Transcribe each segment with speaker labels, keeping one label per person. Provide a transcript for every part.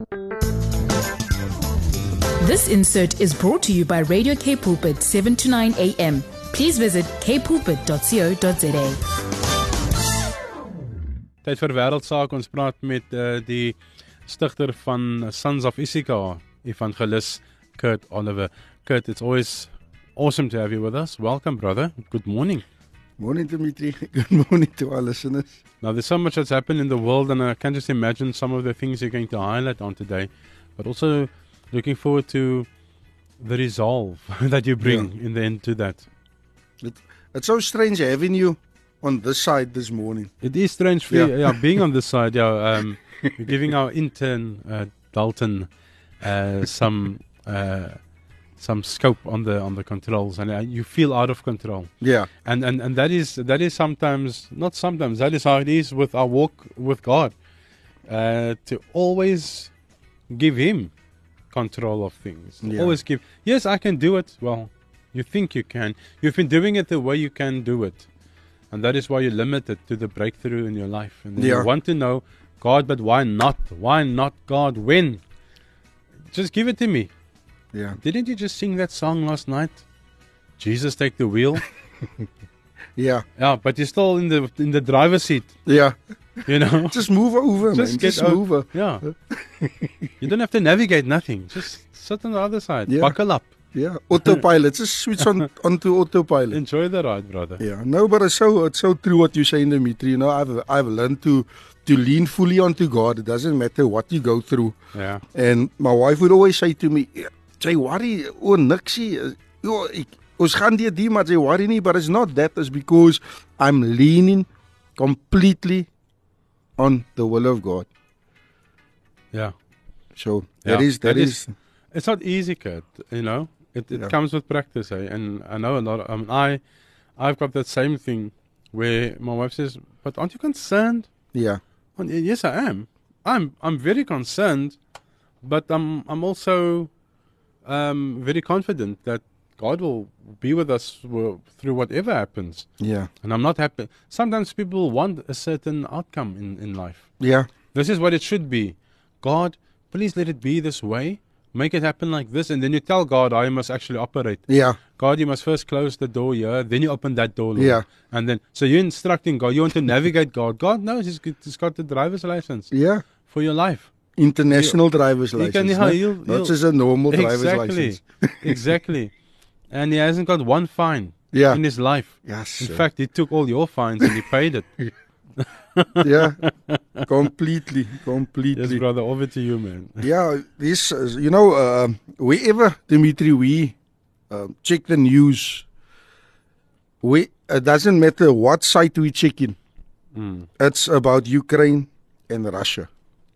Speaker 1: This insert is brought to you by Radio K Pulpit 7 to 9 a.m. Please visit kpulpit.co.za.
Speaker 2: Tyd vir wêreldsaak. Ons praat met die stigter van Sons of Issachar, evangelist Kurt Oliver. Kurt, it's always awesome to have you with us. Welcome, brother. Good morning.
Speaker 3: Morning, Dimitri. Good morning to our listeners.
Speaker 2: Now, there's so much that's happened in the world, and I can just imagine some of the things you're going to highlight on today, but also looking forward to the resolve that you bring in the end to that.
Speaker 3: It's so strange having you on this side this morning.
Speaker 2: It is strange for you, being on this side. We're giving our intern Dalton some scope on the controls, and you feel out of control.
Speaker 3: Yeah,
Speaker 2: and that is sometimes, not sometimes, that is how it is with our walk with God. To always give Him control of things. Always give. Yes, I can do it. Well, you think you can. You've been doing it the way you can do it, and that is why you're limited to the breakthrough in your life. And then you want to know, God, but why not? Why not, God? When? Just give it to me.
Speaker 3: Yeah.
Speaker 2: Didn't you just sing that song last night? Jesus, take the wheel.
Speaker 3: Yeah.
Speaker 2: Yeah, but you're still in the driver's seat.
Speaker 3: Yeah.
Speaker 2: You know.
Speaker 3: Just move over, man. Just move over.
Speaker 2: Yeah. You don't have to navigate nothing. Just sit on the other side.
Speaker 3: Yeah.
Speaker 2: Buckle up.
Speaker 3: Yeah. Autopilot. Just switch onto autopilot.
Speaker 2: Enjoy the ride, brother.
Speaker 3: Yeah. No, but it's so true what you say, Dimitri. You know, I've learned to lean fully onto God. It doesn't matter what you go through.
Speaker 2: Yeah.
Speaker 3: And my wife would always say to me, "Jy worry oor niksie. Ons gaan deur die, maar jy worry nie." But it's not that. It's because I'm leaning completely on the will of God.
Speaker 2: Yeah.
Speaker 3: So that is.
Speaker 2: It's not easy, Kurt. You know, it comes with practice, eh? And I know a lot. I've got that same thing where my wife says, "But aren't you concerned?"
Speaker 3: Yeah.
Speaker 2: And yes, I am. I'm very concerned, but I'm also very confident that God will be with us through whatever happens.
Speaker 3: Yeah.
Speaker 2: And I'm not happy. Sometimes people want a certain outcome in life.
Speaker 3: Yeah.
Speaker 2: This is what it should be. God, please let it be this way. Make it happen like this. And then you tell God how you must actually operate.
Speaker 3: Yeah.
Speaker 2: God, you must first close the door here. Then you open that door, Lord.
Speaker 3: Yeah.
Speaker 2: And then, so you're instructing God. You want to navigate God. God knows He's got the driver's license.
Speaker 3: Yeah.
Speaker 2: For your life.
Speaker 3: International driver's license. Not just a normal driver's license.
Speaker 2: Exactly. And He hasn't got one fine in His life.
Speaker 3: Yes.
Speaker 2: In fact, He took all your fines and He paid it.
Speaker 3: Yeah. Completely.
Speaker 2: Yes, brother, over to you, man.
Speaker 3: Yeah, this, wherever, Dimitri, we check the news, it doesn't matter what site we check in. It's about Ukraine and Russia.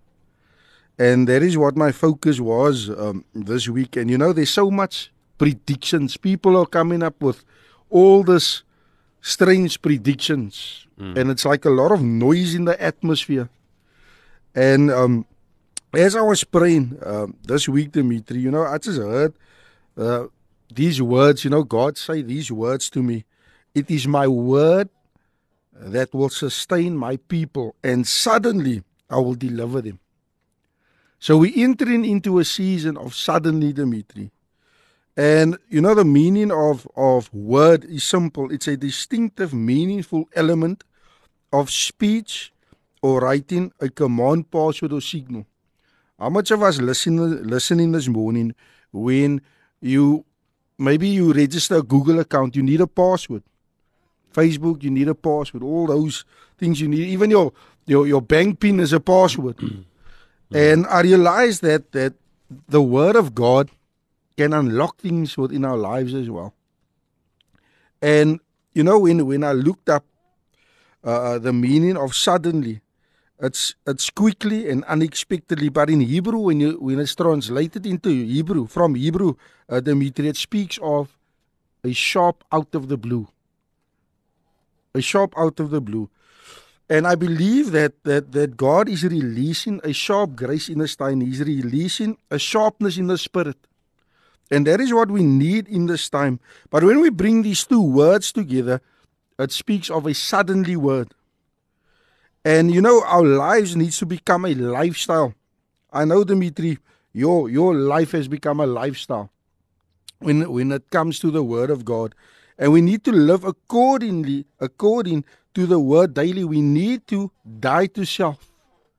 Speaker 3: And that is what my focus was this week. And you know, there's so much predictions. People are coming up with all this strange predictions. And it's like a lot of noise in the atmosphere. And as I was praying this week, Dimitri, you know, I just heard these words, you know, God say these words to me. It is my word that will sustain my people, and suddenly I will deliver them. So we're entering into a season of suddenly, Dimitri. And you know, the meaning of word is simple. It's a distinctive, meaningful element of speech or writing, a command, password, or signal. How much of us listening this morning, when you register a Google account, you need a password. Facebook, you need a password. All those things you need. Even your bank PIN is a password. And I realized that the Word of God can unlock things within our lives as well. And you know, when I looked up the meaning of suddenly, it's quickly and unexpectedly. But in Hebrew, when it's translated into Hebrew, from Hebrew, Dimitri, it speaks of a sharp out of the blue. A sharp out of the blue. And I believe that God is releasing a sharp grace in His time. He's releasing a sharpness in the spirit. And that is what we need in this time. But when we bring these two words together, it speaks of a suddenly word. And you know, our lives needs to become a lifestyle I know, Dimitri, your life has become a lifestyle when it comes to the Word of God. And we need to live according to the Word daily. We need to die to self.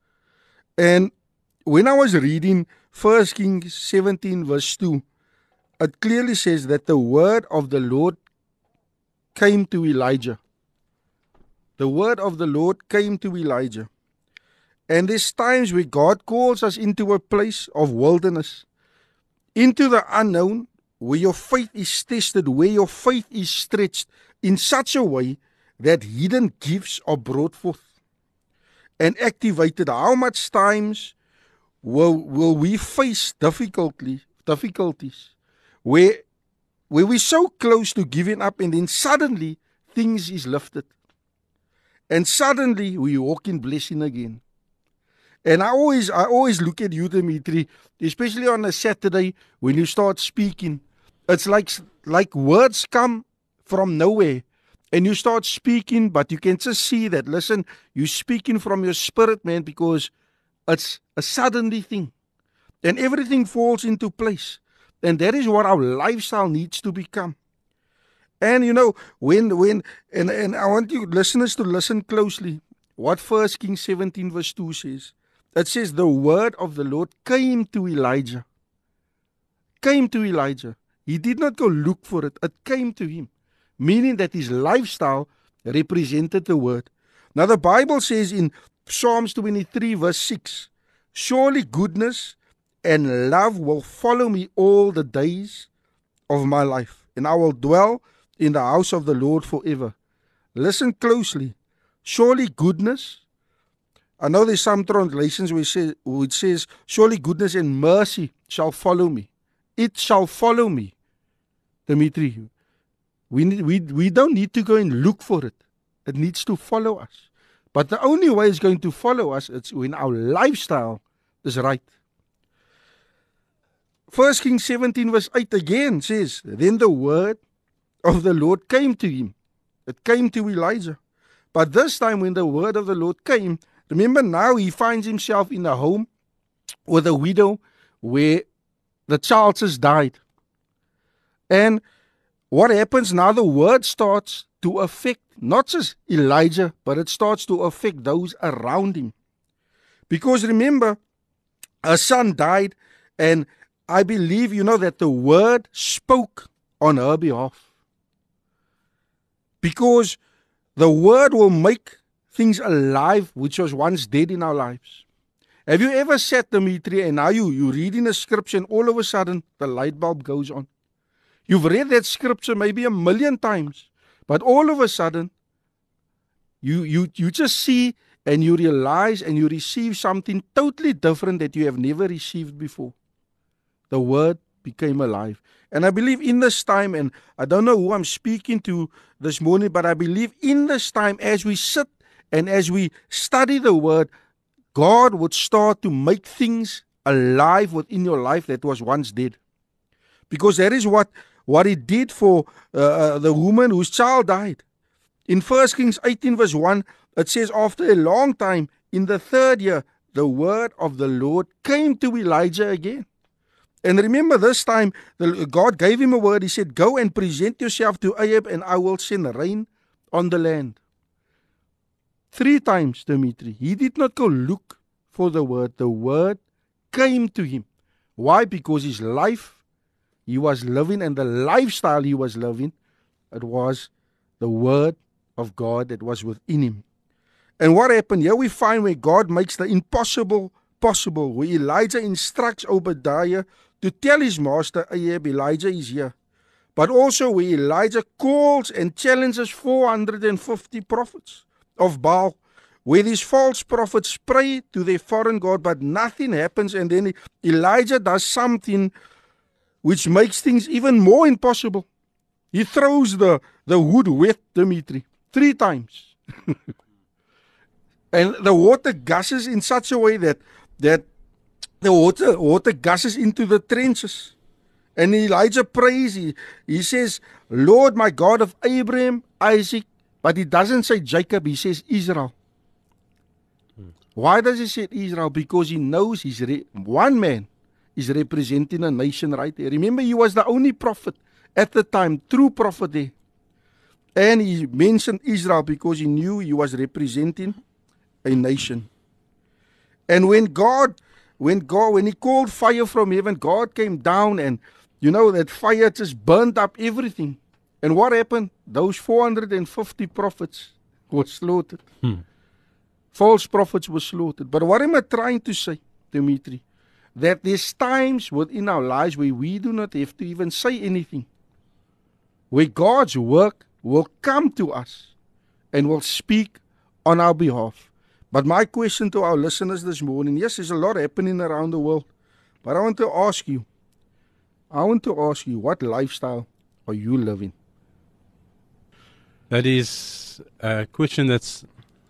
Speaker 3: And when I was reading 1 Kings 17 verse 2, it clearly says that the word of the Lord came to Elijah. The word of the Lord came to Elijah. And there's times where God calls us into a place of wilderness, into the unknown, where your faith is tested, where your faith is stretched in such a way that hidden gifts are brought forth and activated. How much times will we face difficulties where we're so close to giving up, and then suddenly things is lifted, and suddenly we walk in blessing again. And I always look at you, Dimitri, especially on a Saturday when you start speaking. It's like words come from nowhere, and you start speaking, but you can just see that, listen, you're speaking from your spirit, man, because it's a suddenly thing. And everything falls into place. And that is what our lifestyle needs to become. And you know, when I want you listeners to listen closely what 1 Kings 17 verse 2 says. It says, the word of the Lord came to Elijah. Came to Elijah. He did not go look for it. It came to him. Meaning that his lifestyle represented the word. Now the Bible says in Psalms 23 verse 6, surely goodness and love will follow me all the days of my life, and I will dwell in the house of the Lord forever. Listen closely. Surely goodness, I know there's some translations which says, surely goodness and mercy shall follow me. It shall follow me. Dimitri, we don't need to go and look for it. It needs to follow us. But the only way it's going to follow us is when our lifestyle is right. 1 Kings 17 verse 8 again says, then the word of the Lord came to him. It came to Elijah. But this time when the word of the Lord came, remember now he finds himself in a home with a widow where the child just died. And what happens now? The word starts to affect not just Elijah, but it starts to affect those around him. Because remember, a son died, and I believe, you know, that the word spoke on her behalf. Because the word will make things alive which was once dead in our lives. Have you ever sat, Dimitri, and now you reading a scripture and all of a sudden the light bulb goes on? You've read that scripture maybe 1,000,000 times, but all of a sudden you just see and you realize and you receive something totally different that you have never received before. The word became alive. And I believe in this time, and I don't know who I'm speaking to this morning, but I believe in this time as we sit and as we study the word, God would start to make things alive within your life that was once dead. Because that is what he did for the woman whose child died. In 1 Kings 18 verse 1, it says, after a long time, in the 3rd year, the word of the Lord came to Elijah again. And remember, this time, God gave him a word. He said, go and present yourself to Ahab, and I will send rain on the land. 3 times, Dimitri. He did not go look for the word. The word came to him. Why? Because his life he was living, and the lifestyle he was living, it was the word of God that was within him. And what happened? Here we find where God makes the impossible possible, where Elijah instructs Obadiah to tell his master Ahab, Elijah is here. But also where Elijah calls and challenges 450 prophets of Baal, where these false prophets pray to their foreign god, but nothing happens. And then Elijah does something which makes things even more impossible. He throws the wood wet, Dimitri, 3 times. And the water gushes in such a way that the water gushes into the trenches. And Elijah prays, he says, Lord, my God of Abraham, Isaac, but he doesn't say Jacob, he says Israel. Why does he say Israel? Because he knows one man is representing a nation right there. Remember, he was the only prophet at the time, true prophet there. And he mentioned Israel because he knew he was representing a nation. And when he called fire from heaven, God came down and, that fire just burned up everything. And what happened? Those 450 prophets were slaughtered. False prophets were slaughtered. But what am I trying to say, Dimitri? That there's times within our lives where we do not have to even say anything. Where God's work will come to us and will speak on our behalf. But my question to our listeners this morning, yes, there's a lot happening around the world. But I want to ask you, what lifestyle are you living?
Speaker 2: That is a question that's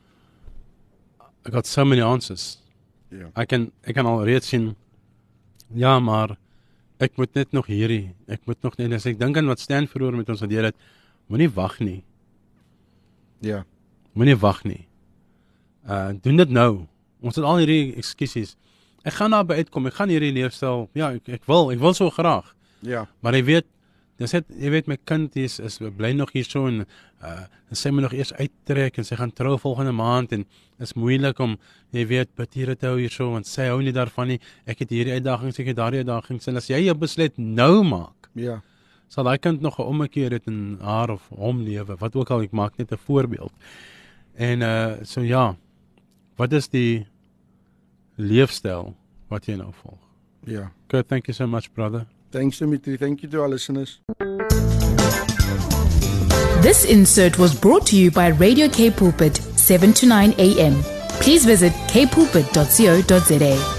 Speaker 2: got so many answers.
Speaker 3: Yeah.
Speaker 2: Ek kan al reeds sien, ja, maar ek moet net nog hierdie, ek moet nog net, as ek dink aan wat Stan vroeër met ons gedeel het, moenie wag nie.
Speaker 3: Ja.
Speaker 2: Moenie wag nie. Doen dit nou. Ons het al hierdie ekskusies. Ek gaan daar by uitkom, ek gaan hierdie leefstyl, ja, ek wil so graag.
Speaker 3: Ja.
Speaker 2: Maar jy weet my kind is bly nog hier so en sy moet nog eers uittrek en sy gaan trou volgende maand en is moeilik om, jy weet, batiere te hou hier so, want sy hou nie daarvan nie. Ek het hierdie uitdagings, ek het daardie uitdagings en as jy jou besluit nou maak,
Speaker 3: Ja.
Speaker 2: sal daai kind nog 'n ommekeer het in haar of hom lewe, wat ook al, ek maak net 'n voorbeeld. En so ja, wat is die leefstyl wat jy nou volg?
Speaker 3: Ja.
Speaker 2: Kurt, thank you so much, brother.
Speaker 3: Thanks, Dimitri. Thank you to our listeners.
Speaker 1: This insert was brought to you by Radio K Pulpit, 7 to 9 a.m. Please visit kpulpit.co.za.